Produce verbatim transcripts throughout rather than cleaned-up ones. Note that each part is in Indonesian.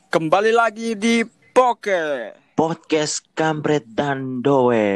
Kembali lagi di Poke Podcast Kampret dan Doe.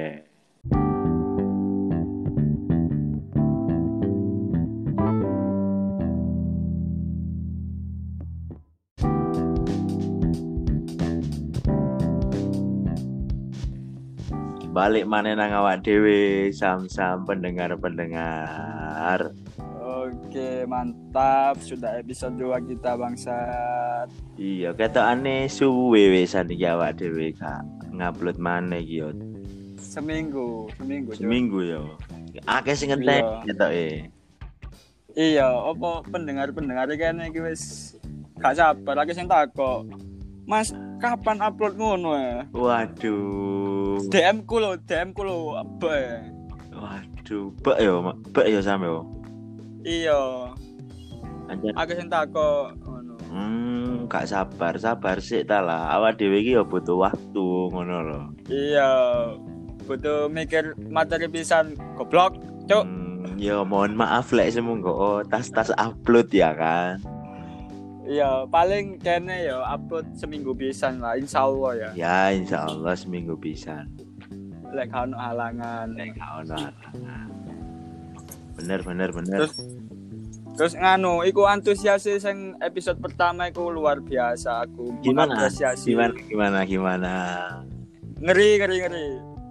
Balik mana nang awak dewe, sam-sam pendengar-pendengar. Oke, mantap. Sudah episode dua kita, bangsat. Iya, ketokane suwe wisan iki awak dhewe Kak. Ngupload maneh iki yo. Seminggu, seminggu. Cuk. Seminggu yo. Akeh sing ngentek Iya. ketoke. Iya, opo pendengar-pendengar kene iki wis gak sabar lagi sing takok. Mas, kapan upload ngono ya? Waduh. D M ku lho, D M ku lho, apa? Waduh, bek yo, Mak. Bek yo sampe yo. Iya. Anjen. Aku sing takok ngono. Hmm, gak sabar, sabar sik ta lah. Awak dhewe iki yo butuh waktu ngono lho. Iya. Butuh mikir materi pisan goblok, cuk. Hmm, yo mohon maaf lek semonggo oh, tas-tas upload ya kan. Iya, paling kene ya upload seminggu pisan lah, insyaallah ya. Ya insyaallah seminggu pisan. Lek gak ono halangan. Nek gak ono halangan. Bener bener bener. Terus terus nganu, iku antusias sing episode pertama iku luar biasa aku Gimana? mengapresiasi. Gimana gimana gimana? Ngeri ngeri ngeri.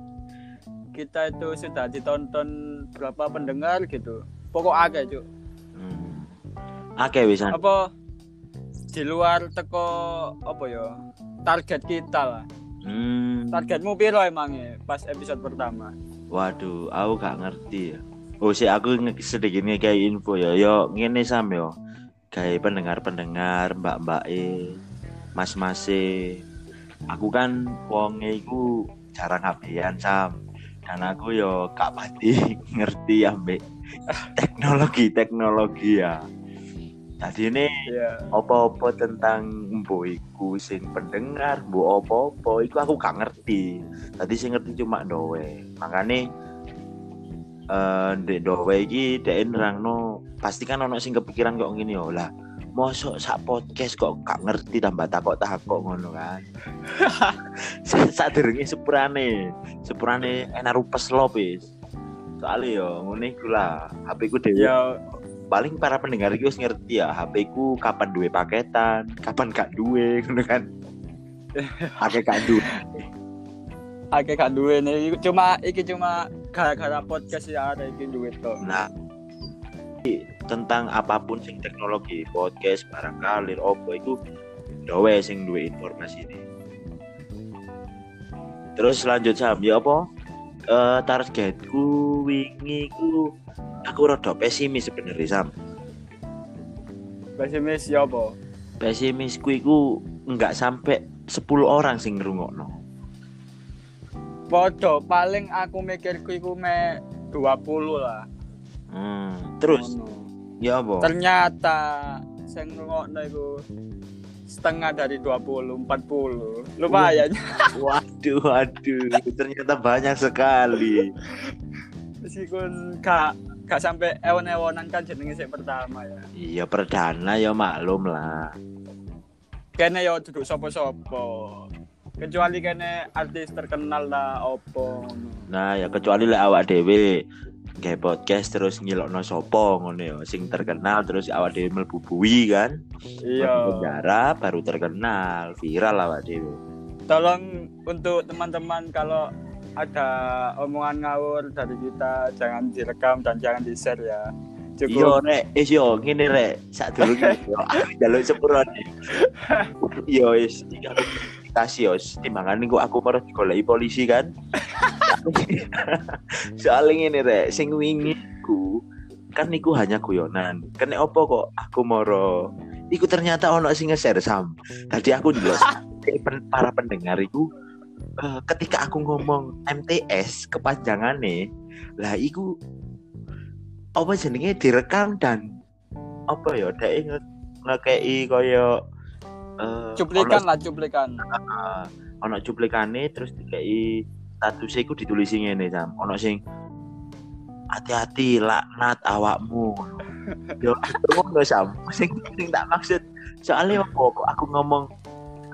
Kita itu sudah ditonton berapa pendengar gitu. Pokok akeh, Cuk. Hmm. Akeh wisan. Apa di luar teko apa ya? Target kita lah. Hmm. Targetmu piro emangnya pas episode pertama? Waduh, aku gak ngerti ya. Oh, sih aku nge- sedikit kayak info ya. Yo ngene sam yo. Kayak pendengar-pendengar, mbak-mbak e, mas-mase. Aku kan wonge iku jarang ngabean sam. Dan aku yo gak pati ngerti ambek teknologi-teknologi ya. Tadi ini Iya. apa-apa tentang mbok iku sing pendengar, mbok apa-apa iku aku gak ngerti. Tadi sing ngerti cuma Doe. Makane eh ndek Doe iki dhek nerangno pasti kan ono sing kepikiran kok ngene yo lah. Mosok sak podcast kok gak ngerti tambah takok-takok ngono kan. Sadurunge sepurane, sepurane enak rupes lopis. Soale yo ngene iku lah, H P ku dhewe Ya paling para pendengar iki wis ngerti ya, H P ku kapan duwe paketan, kapan gak duwe ngono kan. Akeh gak duwe. akeh gak duwe nih. Cuma iki cuma gara-gara podcast ya ada iki duit to. Nah, tentang apapun sing teknologi, podcast, barangkali opo iku Doe sing duwe informasi ini. Terus lanjut sam, ya apa? Eh targetku wingi ku aku rada pesimis sebenarnya sam. Pesimis ya apa? Pesimisku iku enggak sampai sepuluh orang sing ngrungokno. Podo paling aku mikirku iku me dua puluh lah. Hmm, terus Ngono. ya apa? Ternyata sing ngrungokno iku setengah dari dua puluh, empat puluh. Lumayan. Waduh, waduh, ternyata banyak sekali. Meskipun gak gak sampai ewon-ewonan kan jenenge sing pertama ya. Iya perdana ya maklum lah. Kene yo duduk sapa-sapa. Kecuali kene artis terkenal lah opo ngono. Nah ya kecuali lek awak dhewe gawe podcast terus ngilokno sapa ngono ya sing terkenal terus awak dhewe mlebu bui kan. Iya. Mlebu penjara baru terkenal, viral awak dhewe. Tolong untuk teman-teman kalau ada omongan ngawur dari kita jangan direkam dan jangan di-share ya. Yo Cukup. rek, is yo ngene rek, sadurunge yo aku njaluk sepurone. Yo wis iki aku kasih yo timbangane kok aku baru digoleki polisi kan. Soalnya ngene rek, sing wingi ku kan niku hanya guyonan. Kene opo kok aku moro. Iku ternyata ono sing nge-share sam. Tadi aku ndelok para pendengar iku uh, ketika aku ngomong M T S kepanjangane, lah iku apa jenenge direkam dan apa ya dhek nge- ngekei kaya uh, Cuplikan lah, cuplikan. uh, ono cuplikane terus dikei statusnya iku ditulisi ngene sam. Ono sing hati-hati laknat awakmu. Yo ngono sam. Sing sing tak maksud soalnya apa kok aku ngomong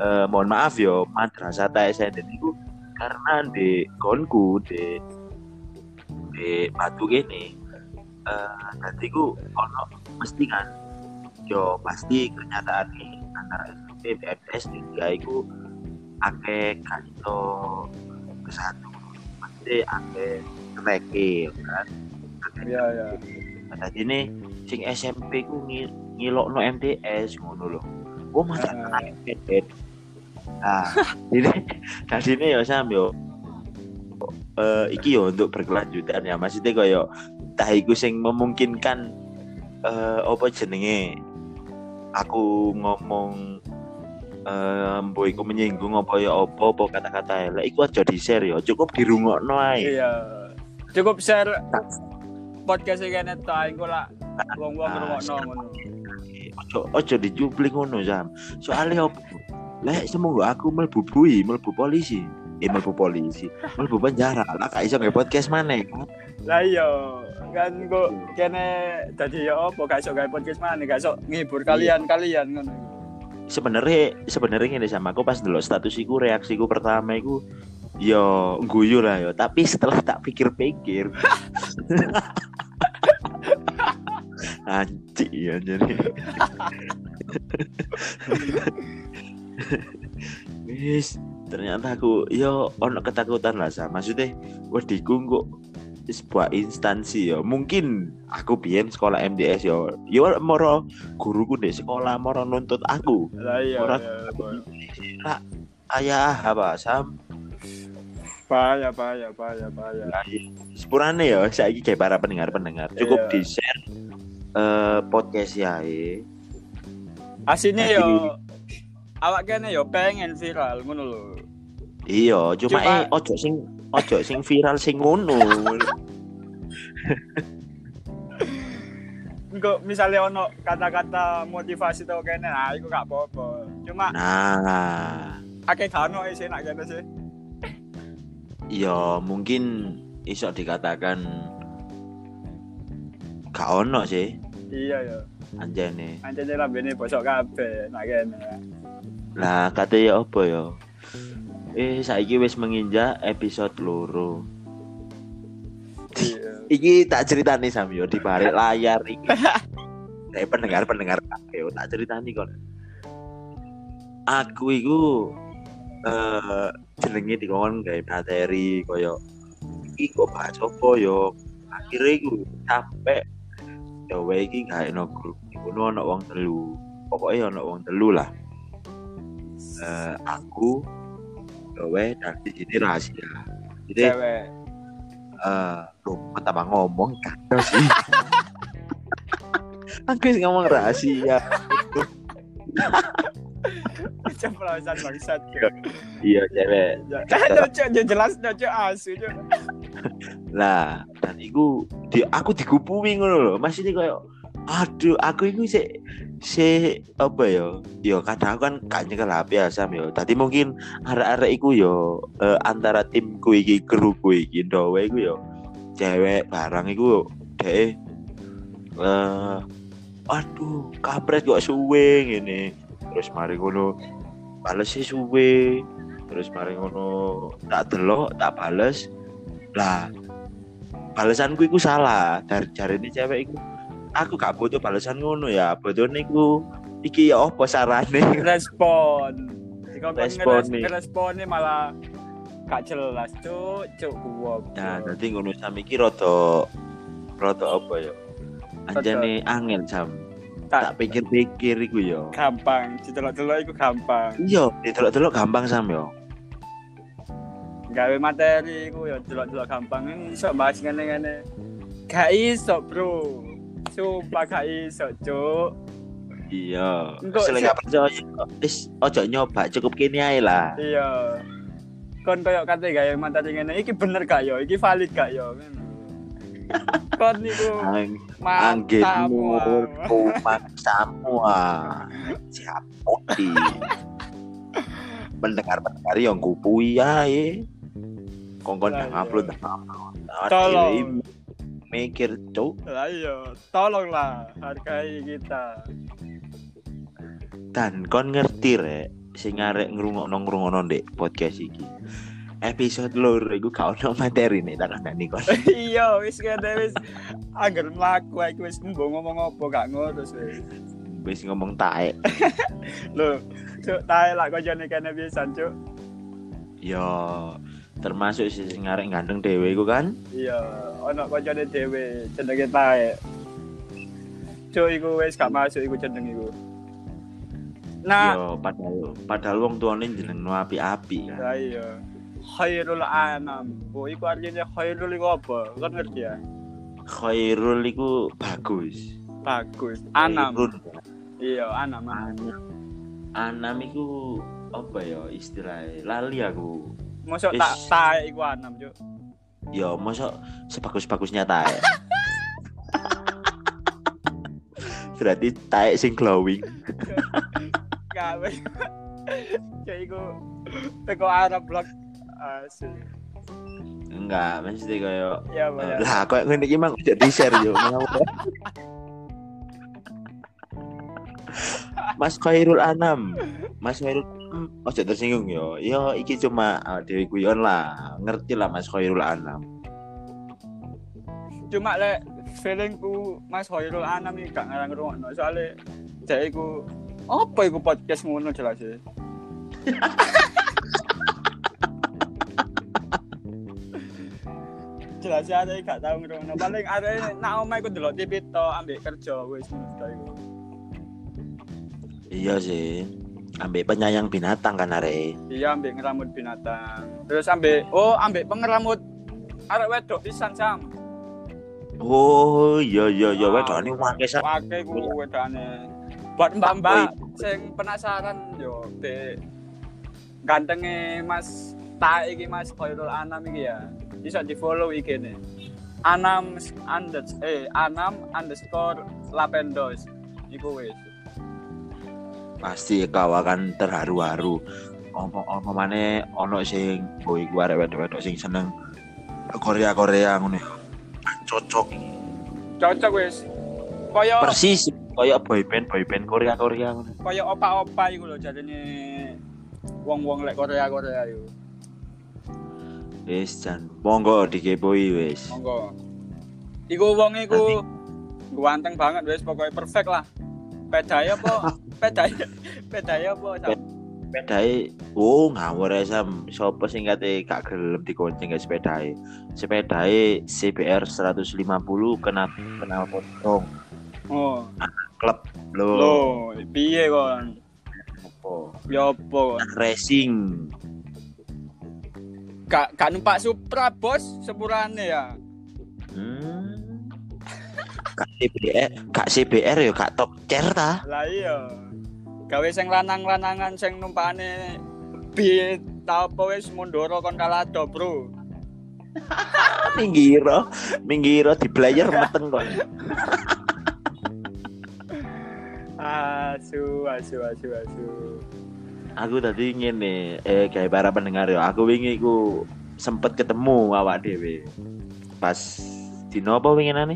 eh, mohon maaf yo madrasah T S N itu karena di konku di di batu gini eh nanti ku ono mesti kan yo pasti kenyataan nih antara S M P B M T S tiga itu akeh kanto kesatu pasti akeh treke kan Iya ya. tadi nih sing S M P ku ngil ngilokno M T S ngono lho. Oh masa Ah. M T S. Nah, ini tadi ini ya Sam yo eh iki yo untuk berkelanjutan ya. Maksudnya koyo tah iku sing memungkinkan eh apa jenenge aku ngomong eh mbok iku menyinggung apa ya apa apa kata-kata elek iku aja di-share ya. Cukup dirungokno ae. Iya. Cukup share podcast iki kene ta engko lah wong-wong ngrungokno ngono. Ojo ojo dicuplik ngono Sam. Soale opo? Lek semoga aku mlebu bui, mlebu polisi. Eh mlebu polisi, mlebu penjara. Lah gak iso nge podcast maneh kan. Lah iya, kan kok kene dadi ya apa gak iso gawe podcast maneh, gak iso ngibur kalian-kalian ngono. Sebenarnya sebenarnya ngene sama aku pas ndelok status iku reaksiku pertama iku yo guyu lah yo, tapi setelah tak pikir-pikir anjir ya jadi wis ternyata aku yo ono ketakutan lah sama maksudnya wediku kok sebuah instansi yo mungkin aku biyen sekolah M D S yo yo moro guruku di sekolah moro nuntut aku Lah iya. Orang- iya, ayah apa Sam bahaya bahaya bahaya bahaya. sepurane ya saiki kayak para pendengar-pendengar cukup Iya. di-share eh, podcast ya Asine Jadi- yo awak kene yo pengen viral ngono lho. iya cuma, Cuma- eh ojo sing ojo sing viral sing ngono Engko misalnya ono kata-kata motivasi to kene, ah iku gak apa-apa. Cuma nah akeh gak ono sih nak kene sih. ya mungkin iso dikatakan gak ono sih Iya ya. anjane Anjene lambene bosok kabeh nak kene. lah kate ya apa ya eh saiki wis menginjak episode loro Iya. iki tak ceritani Sam yo di balik layar iki eh pendengar-pendengar kabeh tak ceritani kon aku iku eh jenenge dikon gawe materi koyo iki kok bahas apa yo akhirnya iku sampai ya wae iki gawe no grup iku ono wong telu pokoknya ono wong telu lah eh aku ya wae dan di sini rahasia jadi Cewek. eh lu tambah ngomong kan sih aku sih ngomong rahasia Ceplosan bangsat. iya cewek Kan cocok jelas cocok asu cok. lah dan iku di aku digupui ngono lho masih ini kayak aduh aku iku sih si apa ya yo kadang kan gak nyekel H P ya Sam yo tadi mungkin arek-arek iku yo eh, antara timku iki kruku iki ndowe iku yo cewek barang iku deh eh aduh kampret kok suwe ngene terus mari ngono bales sih suwe terus mari ngono tak delok tak bales lah balesanku iku salah dari jarine cewek iku aku gak butuh balesan ngono ya butuhne iku iki ya apa sarane Respon. Jika Respon nih. responnya malah gak jelas cuk cuk gua. nah nanti ngono sam iki rada rada apa ya anjane angel Sam tak tak pikir-pikir iku ya gampang, didelok-delok iku gampang. iya didelok-delok gampang Sam ya Gawe materi iku ya delok-delok gampang iso bahas ngene-ngene. Gak iso, Bro. Sumpah gak iso, cuk. iya Engko selek si- gak percaya wis ojo nyoba cukup kene ae lah Iya. Kon koyo kate gawe materi ngene iki bener gak yo? Iki valid gak yo? Ngono. Kon niku Ang- mantap. anggenmu wah. rumah semua siap putih pendengar-pendengar yang kupui ae kongkon Lah, dah iya. upload dah upload Tolong. Akhirnya mikir cuk Lah iya, tolonglah hargai kita. dan kon ngerti rek sing arek ngrungokno-ngrungokno ndek podcast iki. Episode loro iku gak ono materi nih tak kandani kon. Iya, wis kene wis angger mlaku aku wis mbok ngomong apa gak ngurus wis. Wis ngomong taek. Lho, cuk tae lak koncone kene pisan, cuk. Yo, termasuk sing arek ganteng dhewe iku kan? Iya, ono koncone dhewe jenenge tae. Cuk iku wis gak masuk iku jeneng iku. Nah, yo padahal padahal wong tuane jenengno api-api kan. lah iya. Khairul anam. Oh, iku artinya khairul iku apa? Kan ngerti ya? Khairul iku bagus. Bagus. Anam. Khairul. Iya, anam. Anam. Anam iku apa ya istilahnya? Lali aku. Mosok Is- tak tae iku anam, Cuk. Yo, mosok sebagus-bagusnya taek. Berarti taek sing glowing. Gak wis. Cuk iku teko Arab blok asli. Enggak, mesti koyo Ya, eh, Pak. lah koyo ngene iki mang udah di-share yo. Mas Khairul Anam. Mas Khairul Anam ojo tersinggung yo. Yo iki cuma uh, dhewe guyon lah. Ngerti lah Mas Khairul Anam. Cuma lek feelingku Mas Khairul Anam iki gak ngarang ngrungokno soalnya jek iku apa iku podcast ngono jelas e. Jelas ada gak tau ngrungokno. Paling arek nak omah iku delok T V to ambek kerja wis ngono iku. Iya sih. Ambek penyayang binatang kan arek. Iya ambek ngeramut binatang. Terus ambek oh ambek pengeramut arek wedok pisan Sam. Oh, iya iya iya wedokane wake sak. Wake ku wedane. Buat mbak-mbak sing penasaran yo be gantenge Mas Ta iki Mas Khairul Anam iki ya. Bisa di-follow I G-ne. Anam under eh Anam underscore Lapendos. Iku wis. Pasti kau akan terharu-haru. Apa-apa maneh ono sing boy ku arek wedok-wedok sing seneng Korea-Korea ngono. Cocok. Cocok wis. Kaya Persis kaya boyband boyband Korea-Korea ngono. kaya opa-opa iku lho jarene wong-wong lek Korea-Korea iku. Wis jan monggo dikepoi wis. Monggo. Iku wong iku ganteng banget wis pokoknya perfect lah. Pedae apa? Pedae. Pedae apa? Sam? Sepedae oh ngawur ae Sam. Sopo sing kate gak gelem dikonceng guys sepedae. Sepedae C B R seratus lima puluh kena kena potong. Oh, Klub lho. lho, piye kon? Opo? Ya apa kon? Racing. Gak gak numpak Supra, Bos, sepurane ya. Hmm. Kak C B R, Kak C B R ya Kak top chair ta. Lah iya. Gawe sing lanang-lanangan sing numpakane bi ta apa wis mundoro kon kalado, Bro. Minggiro, minggiro di player meteng kok. Asu, asu, asu, asu. Aku tadi ngene, eh kayak para pendengar ya, aku wingi ku sempet ketemu awak dhewe. Pas dino apa winginane?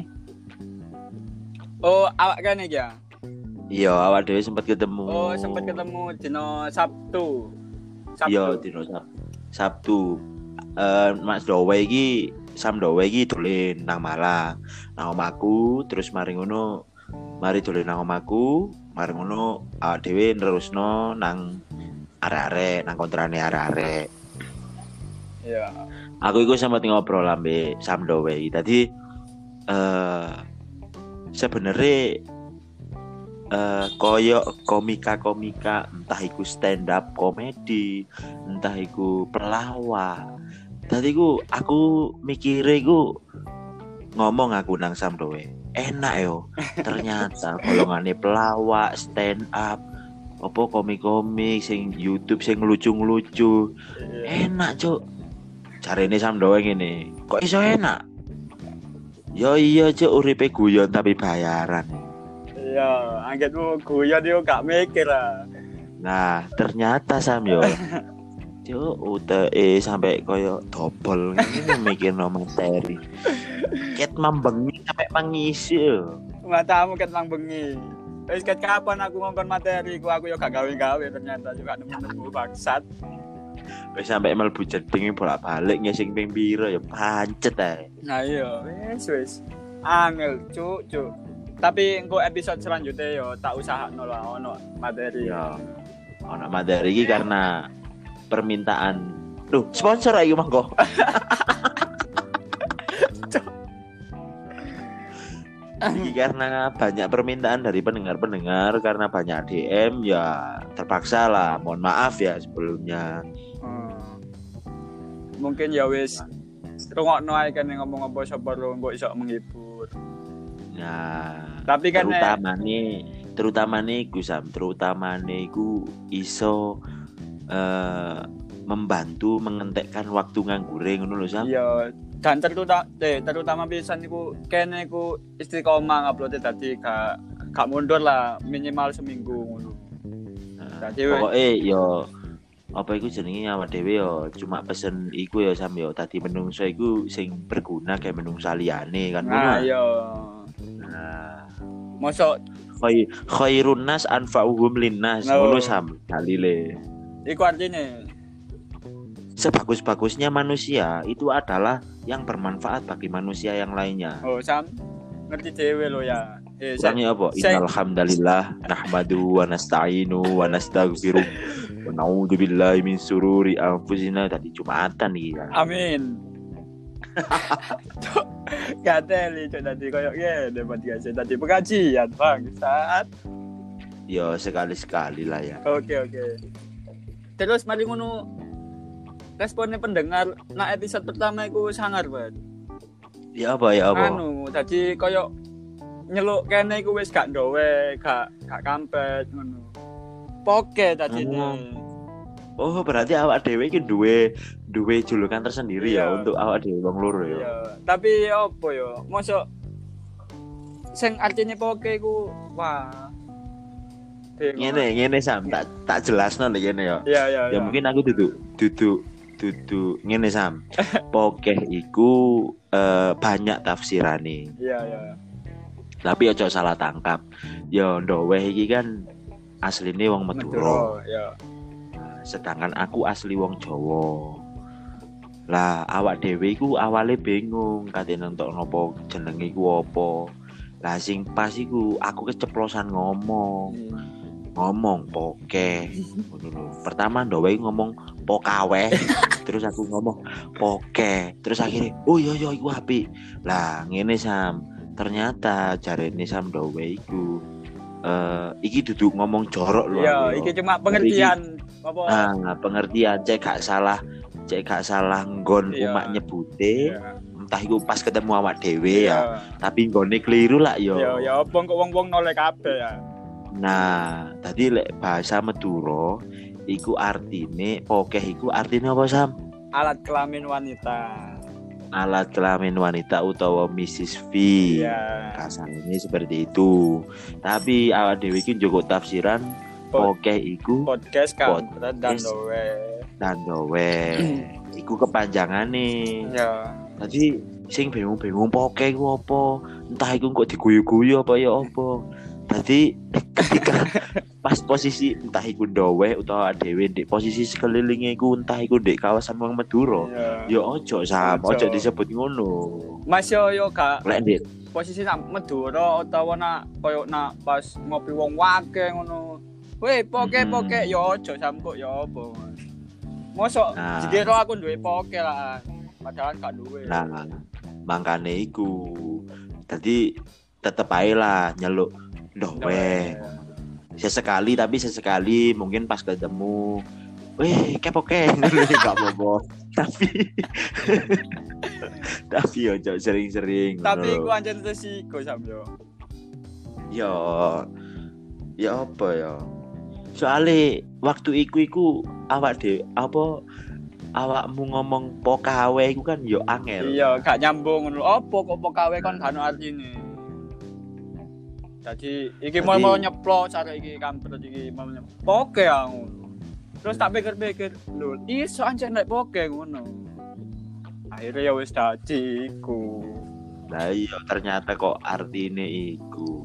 Oh, awak kan iki ya? Iya, awak dhewe sempet ketemu. Oh, sempat ketemu dino Sabtu. Iya, dino Sab- Sabtu. Eh Mas Dowe iki Sam Dowe iki dolen nang Malang. Nang omahku, terus mari ngono mari dolen nang omahku, mari ngono awak dhewe nerusno nang arek-arek, nang kontrane arek-arek. Iya. Aku iku sempat ngobrol ambek Sam Dowe iki. Tadi eh sebenarnya eh koyo komika-komika entah iku stand up komedi, entah iku pelawak. Tadi ku aku mikire iku ngomong aku nang Sam Dowe. Enak yo. Ternyata golongane pelawak, stand up, apa komik-komik sing YouTube sing lucu-lucu. Enak, Cuk. Jarene Sam Dowe ngene. Kok iso enak? Yo iya, Cuk, uripe guyon tapi bayaran. Iya, anggetmu guyon yo gak mikir ah. Nah, ternyata Sam yo. Cuk, udah eh sampai koyo dobel ngene mikirno materi. Ket mambengi sampai mangisi yo. Matamu ket nang bengi. Wis ket kapan aku ngongkon materi ku aku yo gak gawe-gawe ternyata juga nemu-nemu bangsat. Wis sampe mlebu jeding bolak-balik ngesing ping piro ya pancet ae. Nah iya, wis wis. Angel, cuk, cuk. Tapi engko episode selanjutnya yo tak usahakno lah ono materi. Ya. Ono materi iki karena permintaan. Duh, sponsor ae mangko. Ini karena banyak permintaan dari pendengar-pendengar, karena banyak D M ya terpaksa lah. Mohon maaf ya sebelumnya. Hmm. Mungkin ya wis rungokno ae kan ngomong apa sapa ro mbok iso menghibur. Nah, tapi kan terutama nih, terutama nih iku Sam, terutama nih iku iso uh, membantu mengentekkan waktu nganggure ngono lho Sam. Iya. Dan terutama eh, terutama pisan iku kene iku istiqomah ngupload dadi gak gak mundur lah minimal seminggu ngono. Nah, pokoke yo apa iku jenenge awak dhewe yo cuma pesen iku yo Sam yo tadi menungso iku sing berguna kayak menungso liyane kan ngono. Nah, iya. Nah, mosok khay khairun nas anfa'uhum linnas ngono Sam dalile. Iku artine sebagus-bagusnya manusia itu adalah yang bermanfaat bagi manusia yang lainnya. Oh, Sam, ngerti dhewe lo ya. Eh, Kurangnya apa? Innal hamdalillah nahmadu wa nasta'inu wa nastaghfiruh wa na'udzubillahi min sururi anfusina. Tadi Jumatan iki ya. Amin. Gak teli cok tadi koyo ngene podcast tadi pengajian, Bang. Saat. Ya sekali-sekali lah ya. Oke, oke. Terus mari ngono responnya pendengar nah episode pertama iku sangar banget. Ya apa ya apa? Anu, dadi koyo nyeluk kene iku wis gak ndowe, gak gak kampet ngono. Poke dadi ini. Oh, berarti awak dhewe iki duwe duwe julukan tersendiri iya. Ya untuk awak dhewe wong loro ya. Iya, tapi opo yo? Mosok sing artine poke iku wah. Ngene ngene Sam, tak tak jelasno lho ngene ya. Iya, iya, ya. Ya mungkin aku duduk duduk duduk ngene Sam. Pokeh iku uh, banyak tafsirane. Iya, iya. Tapi aja salah tangkap. Ya ndoweh iki kan asline wong Madura. Ya. Sedangkan aku asli wong Jawa. Lah awak dhewe iku awale bingung katene entuk napa jenenge iku apa. Lah sing pas iku aku keceplosan ngomong. Hmm. Ngomong poke ngono. Pertama ndoweh ngomong pokawe, terus aku ngomong poke, terus akhirnya oh iya iya iku apik. Lah ngene Sam, ternyata jarene Sam ndoweh iku uh, iki duduk ngomong jorok lho. Iya, iki cuma pengertian apa? Nah, pengertian cek gak salah, cek gak salah nggon iya. Umak nyebute. Iya. Entah iku pas ketemu awak dhewe iya. Ya, tapi nggone keliru lah yo. Iya, ya apa kok wong-wong noleh kabeh ya. Nah, tadi lek bahasa Madura iku artine pokeh iku artine apa Sam? Alat kelamin wanita. Alat kelamin wanita utawa missis V. Iya. Kasarnya seperti itu. Tapi awak dhewe iki njogo tafsiran pokeh iku podcast kan dan dowe. Dan dowe. Iku kepanjangane. Iya. Tadi sing bingung-bingung pokeh iku apa? Entah iku kok diguyu-guyu apa ya apa. Tadi ketika pas posisi entah iku ndowe utawa dhewe ndek posisi sekelilinge iku entah iku ndek kawasan wong Madura ya ojo Sam ojo disebut ngono Mas yo yo gak lek ndek posisi nak Madura utawa nak koyo nak pas ngopi wong wake ngono weh poke poke yo ojo Sam kok yo apa mosok nah. Dikira aku duwe poke lah padahal gak duwe nah mangkane iku tadi tetep ae lah nyeluk ndowe sesekali tapi sesekali mungkin pas ketemu weh kepoke enggak apa-apa tapi tapi yo sering-sering tapi iku anjen resiko sampe yo ya apa ya soalnya waktu iku iku awak dhewe apa awakmu ngomong pokawe iku kan yo angel iya gak nyambung ngono opo kok pokawe kan gak ono artine. Jadi iki mau mau nyeplo cara iki kampret iki mau poke aku. Terus tak pikir-pikir, lho iso ancen nek poke ngono. Akhirnya ya wis dadi iku. Lah iya ternyata kok artine iku.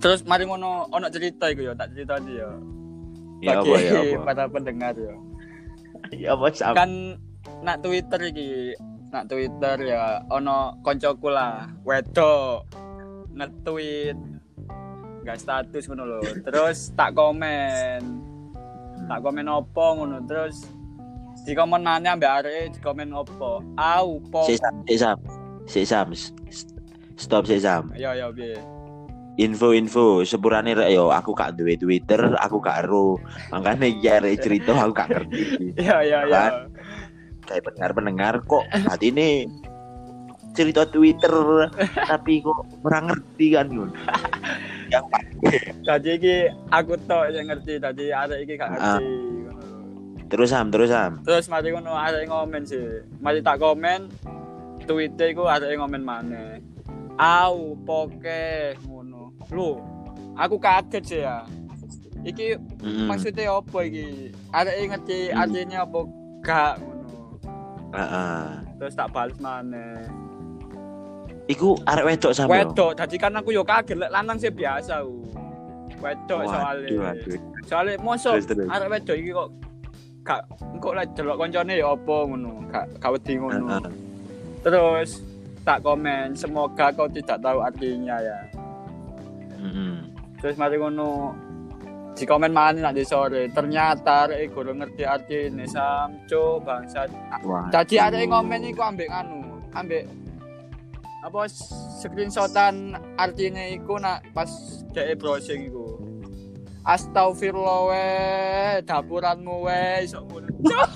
Terus mari ngono ono cerita iku ya, tak cerita iki ya. Ya Bagi apa ya apa. para pendengar ya. Ya apa Sam? Kan nak Twitter iki, nak Twitter ya ono koncoku lah, wedok nge-tweet gak status ngono lho. Terus tak komen. Tak komen opo ngono. Terus di komenannya ambek areke di komen opo? Au, po. Si Sam, si Sam. Si Sam. Stop si Sam. Ya ya piye. Info-info sepurane rek yo aku gak duwe Twitter, aku gak ero. Makane iki arek cerita aku gak ngerti. Ya ya ya. Kayak pendengar-pendengar kok hati ini cerita Twitter tapi kok kurang ngerti kan ngono. Yang Tadi iki aku tok yang ngerti, tadi arek iki gak ngerti. Ngono. terus Sam, terus Sam. Terus mari ngono arek ngomen sih. Mari tak komen Twitter iku arek ngomen maneh. Au, poke ngono. Lho, aku kaget sih ya. Iki Mm-mm. maksudnya apa iki? Arek ngerti Mm. artinya apa gak ngono. Heeh. Terus tak balas maneh. Iku arek wedok Sam. yo? Wedok, dadi kan aku yo kaget lek lanang sih biasa u. Wedok soalnya. Waduh, waduh. Soalnya mosok Terus, terus. arek wedok iki kok gak engko lek delok koncone ya apa ngono, gak gak wedi ngono. Heeh. Terus tak komen, semoga kau tidak tahu artinya ya. Heeh. Terus mari ngono di komen mana nak di sore. Ternyata arek guru ngerti artine samco bangsat. Wah. Dadi arek ngomen iku ambek anu, ambek apa screenshotan artine iku nak pas dhek browsing iku. Astagfirullah we, dapuranmu we iso ngono.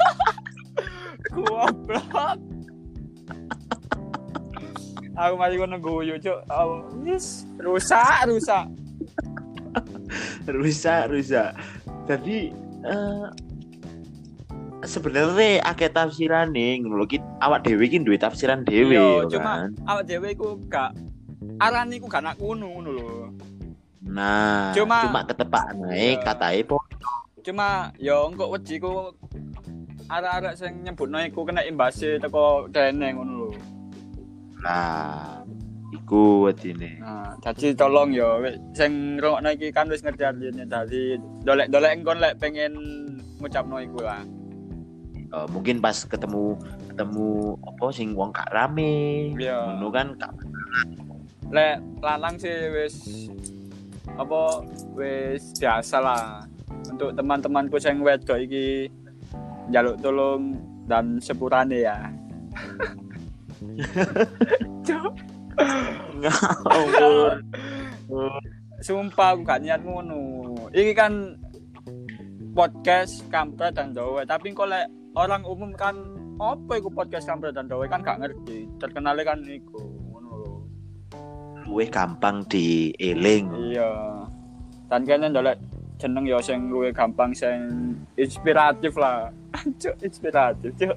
Goblok. Aku mari ngono guyu, Cuk. Oh, yes, rusak, rusak. rusak rusak jadi uh, sebenarnya akeh tafsirane ngono lho ki awak dhewe iki duwe tafsiran dhewe Iya, yo cuma kan. awak dhewe iku gak arane iku gak nak ngono ngono lho. Nah Cuma- cuma ketepak nae Iya. katae po Cuma yo engko wedi ku arek-arek sing nyebutno iku kena imbase teko dene ngono lho. nah iku wedine. Nah, jadi tolong yo wek sing ngrungokno iki kan wis ngerti artine dadi dolek-dolek engkon lek pengen ngucapno iku lah. Uh, mungkin pas ketemu ketemu apa sing wong gak rame Iya. ngono kan gak Lek lanang sih wis apa wis biasa lah. Untuk teman-temanku sing wedok iki njaluk tolong dan sepurane ya. Cuk, ngawur. sumpah aku gak niat ngono. Iki kan podcast kampret dan dowe, tapi kok lek orang umum kan apa iku podcast kampret dan dowe kan gak ngerti. Terkenalnya kan iku ngono lho. Luwih gampang dieling. Iya. Dan kene ndolek jeneng ya sing luwih gampang sing inspiratif lah. Cuk, inspiratif, cuk.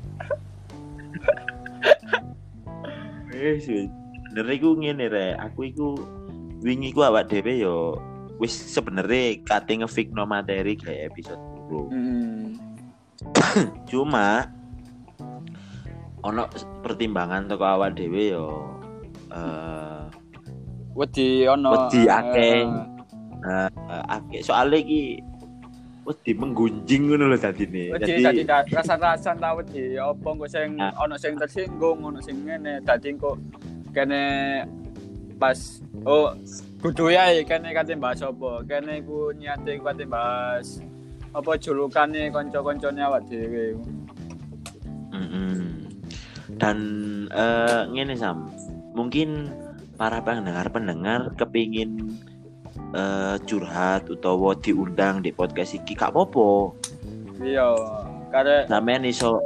Wis wis. Bener iku ngene rek, aku iku wingi ku awak dhewe yo wis sebenarnya kate ngefikno materi kayak episode dulu. Hmm. Cuma ono pertimbangan teko awak dhewe yo eh Wedi ono Wedi akeh. eh, uh, akeh soalnya iki wedi menggunjing ngono lho dadine. Wedi dadi rasa-rasa ta wedi apa kok sing Nah. ono sing tersinggung, ono sing ngene, dadi kok kene pas oh kudu ya kene kate bahas apa. Kene iku niate iku kate bahas apa julukane kanca-kancane awak dhewe. Mm-mm. Dan eh ngene Sam, mungkin para pendengar-pendengar kepingin eh curhat utawa diundang di podcast iki gak apa-apa. Iya, kare Sampeyan iso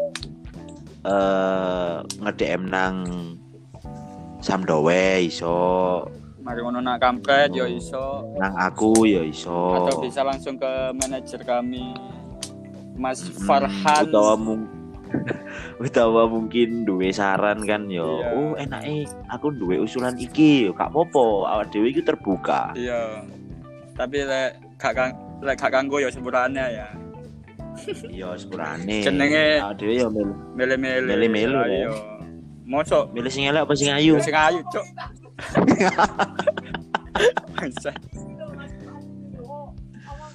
eh nge-D M nang Samdowe iso, mari ngono nak kampret yo iso nang aku ya iso. atau bisa langsung ke manajer kami Mas Mm, Farhan. utawa mung utawa mungkin duwe saran kan yo. Iya. Oh, enake aku duwe usulan iki yo gak apa-apa. Awak dhewe iki terbuka. Iya. Tapi lek gak kang lek gak kanggo ya sepurane ya. Iya, sepurane. Jenenge- awak dhewe yo milih, Mele-mele. Mele-mele, Ayo. Mosok milih sing elek apa sing ayu. sing ayu, Cuk. Bangsat.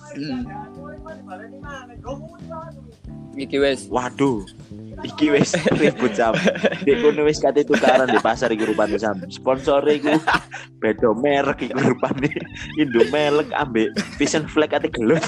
Hmm. Iki wis. Waduh. Iki wis ribut Sam. Dek kono wis kate tukaran di pasar iki rupane Sam. Sponsore iku beda merek iki rupane. Indomelek ambek Vision Flag ate gelut.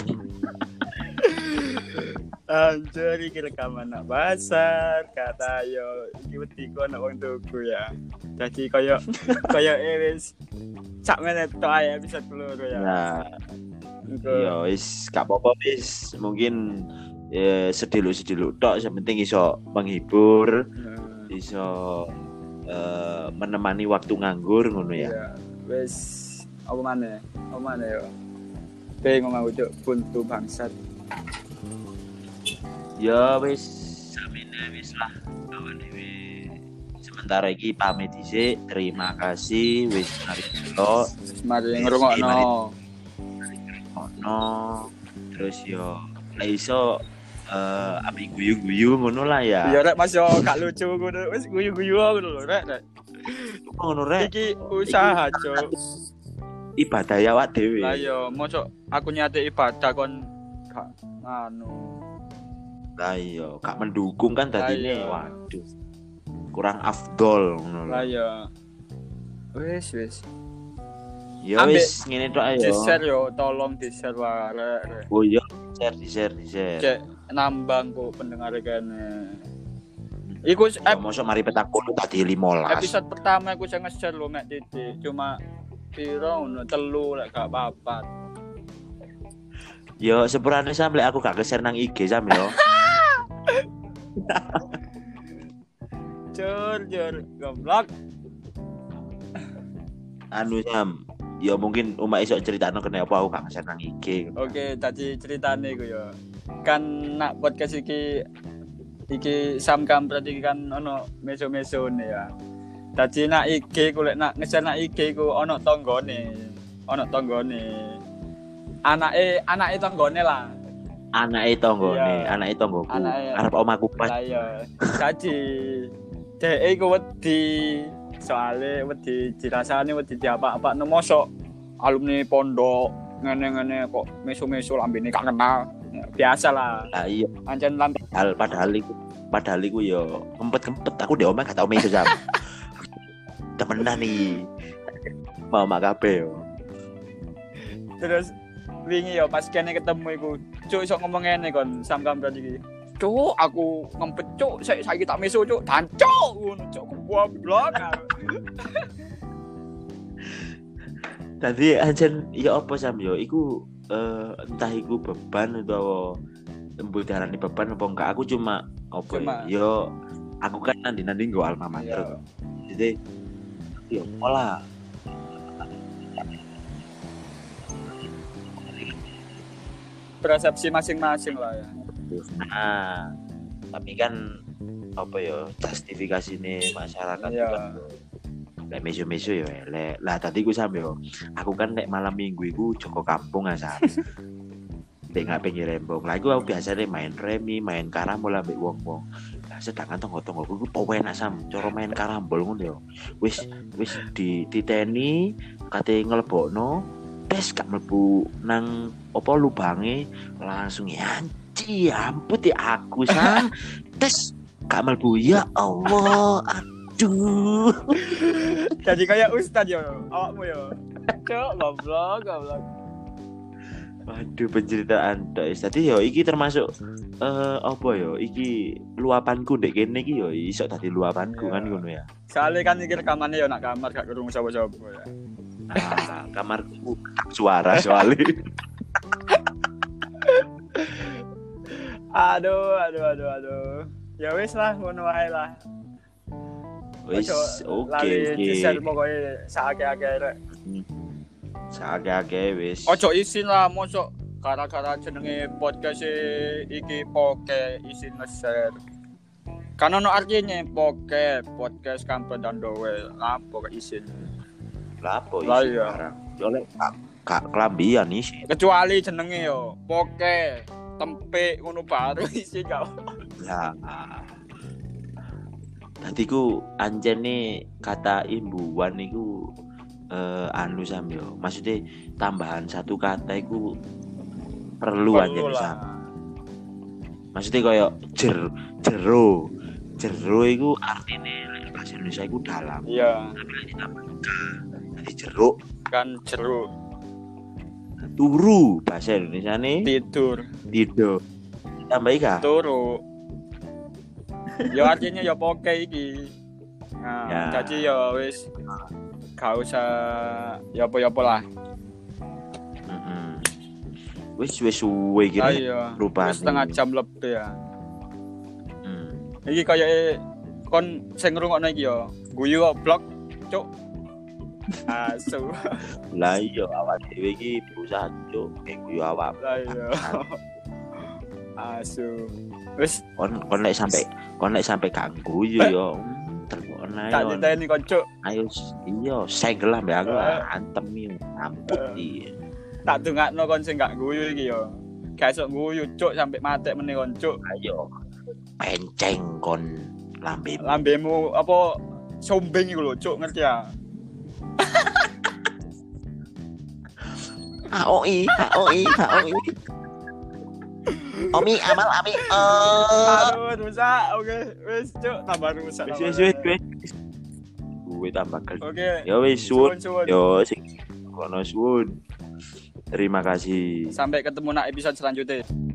Anjir iki rekaman nak pasar kata yo iki wedi ku ana wong tuku ya. Dadi koyo koyo wis sak menit tok ae bisa keluar ya. Nah, Engko ya wis gak apa-apa wis. Mungkin ya sediluk-sediluk tok yang penting iso menghibur, iso uh, menemani waktu nganggur ngono ya. Iya, wis apa maneh? Apa maneh yo. Pengen ngomong ujuk buntu bangsat. Ya wis samene wis lah kawan dhewe. Sementara iki pamit dhisik. Terima kasih wis mari delok. Mari ngrungokno. Ono terus yo lek iso eh api guyu-guyu ngono lah ya. Ya rek Mas yo gak lucu ngono. Wis guyu-guyu ngono lho rek. Rek. Ngono rek. Iki usaha, Cuk. Ibadah ya awak dhewe. Lah yo mosok aku nyate ibadah kon gak anu. Lah iya, gak mendukung kan dadine. Lah, iya. Waduh. Kurang afdol ngono Lah lho. yo. Wis wis. Ya Ambek wis ngene tok ae yo. Di-share yo, tolong di-share wae rek. Rek. Oh iya, share, di-share, di-share. Cek nambang kok pendengar kene. Iku Ya, mosok mari petak puluh tadi lima belas. episode pertama aku sing nge-share lho mek titik. Cuma piro ngono telu lek gak papat. Yo sepurane sampe aku gak ke-share nang I G sam yo. Jur jur goblok. Anu sam, yo mungkin umak iso critakno kene apa aku gak ke-share nang I G. Oke, tadi ceritane ku yo. Kan nak podcast iki iki Sam Kampret iki kan ono meso-mesone ya. Dadi nak I G ku lek nak nge-share nak I G ku ono tanggane. Ono tanggane. Anake anake tanggane lah. Anake tanggane, Iya. anake tanggoku. Anake. Arep omaku pas. Lah iya. Dadi dhek iku wedi soalé wedi dirasani wedi diapa-apakno mosok alumni pondok ngene-ngene kok meso-meso lambene gak kenal. Biasa lah. Lah iya, Ancen lambe padahal padahal iku padahal iku yo kempet-kempet aku ndek omah gak tau meso sam. Temenan iki. Mau mak kabeh yo. terus wingi yo pas kene ketemu iku cuk iso ngomong ngene kon Sam Kampret iki. Cuk, aku ngempet cuk, saya saiki tak meso cuk, dancuk ngono cuk goblok. Tadi ancen ya apa sam yo iku eh, entah iku beban utawa embul darane beban apa enggak aku cuma apa Cuma- ya, yo aku kan nanti-nanti nggo alma mater. Iya. Jadi yo pola Persepsi masing-masing lah ya. nah tapi kan apa ya justifikasi nih masyarakat Iya. kan lek meso-meso yo elek. Lah tadi ku sam yo aku kan nek malam minggu iku Joko Kampung asal. Dek nggak pengen rembong. Lah iku aku biasanya main remi, main karambol ambek wong-wong. Lah sedangkan tonggo-tonggo ku penak sam, cara main karambol ngono yo. Wis wis di titeni kate nglebokno tes gak mlebu nang apa lubange langsung yanci ampun ya aku sam. Tes gak mlebu ya Allah. Aduh. Jadi kayak ustad yo, awakmu yo. Cuk, goblok, goblok. Waduh penceritaan tok. Tadi yo iki termasuk eh apa yo iki luapanku ndek kene iki yo iso dadi luapanku Iya. kan ngono ya. Soale kan iki rekamane yo nak kamar gak kerungu sapa-sapa ya. Nah, kamarku tak suara soalnya. Aduh, aduh, aduh, aduh. Ya wis lah ngono wae lah. Wis Ojo oke lali oke. di-share pokoke saake-ake rek. Sakake wis. Ojo isin lah mosok gara-gara jenenge podcast iki poke isin nge-share. Kan ono artinya poke podcast Kampret dan Dowe lapo ke isin. Lapo Lah isi iya. barang. Yo lek gak gak kelambian isi. Kecuali jenenge yo poke tempe ngono baru isin gak. Lah. Tadi ku anjene kata imbuhan niku eh anu sam yo. Maksudnya tambahan satu kata iku perlu aja Perlu bisa. lah. Maksudnya kayak jer jero. Jero iku artine lek bahasa Indonesia iku dalam. Iya, Tapi lek ditambah ka dadi jeruk, kan jeruk turu bahasa Indonesia nih tidur tidur. Tambah ka. turu. Ya artinya ya poke iki. Nah, Ya. jadi ya wis gak usah ya apa-apa lah. Heeh. Wis wis suwe iki. Ah Rek. iya, Rupane. wis setengah jam lebih ya. Hmm. Iki kaya kon sing ngrungokno iki ya, guyu kok blok, cuk. Asu. Lah iya awak dhewe iki berusaha cuk kayak guyu awak. Lah iya. Asu. Wis Kon kon lek sampai kon lek sampai gak guyu yo. Terpon ae. tak diteni kon cuk. Ayo iya segel lah mbak aku antem iki ampun iki. Tak dongakno kon sing gak guyu iki ya. Gak iso guyu cuk sampai matek meneh kon cuk. Ayo penceng kon lambe. Lambemu apa sombeng iku lho cuk ngerti ya. Aoi, aoi, aoi. Omi amal ami. Eh. Aduh, rusak. Oke, wis cuk tambah rusak. Wis tambah wis wis rusak. wis. Gue tambah kel. Oke. Ya wis suwun. Suwun, suwun. Yo sing kono suwun. Terima kasih. Sampai ketemu nak episode selanjutnya.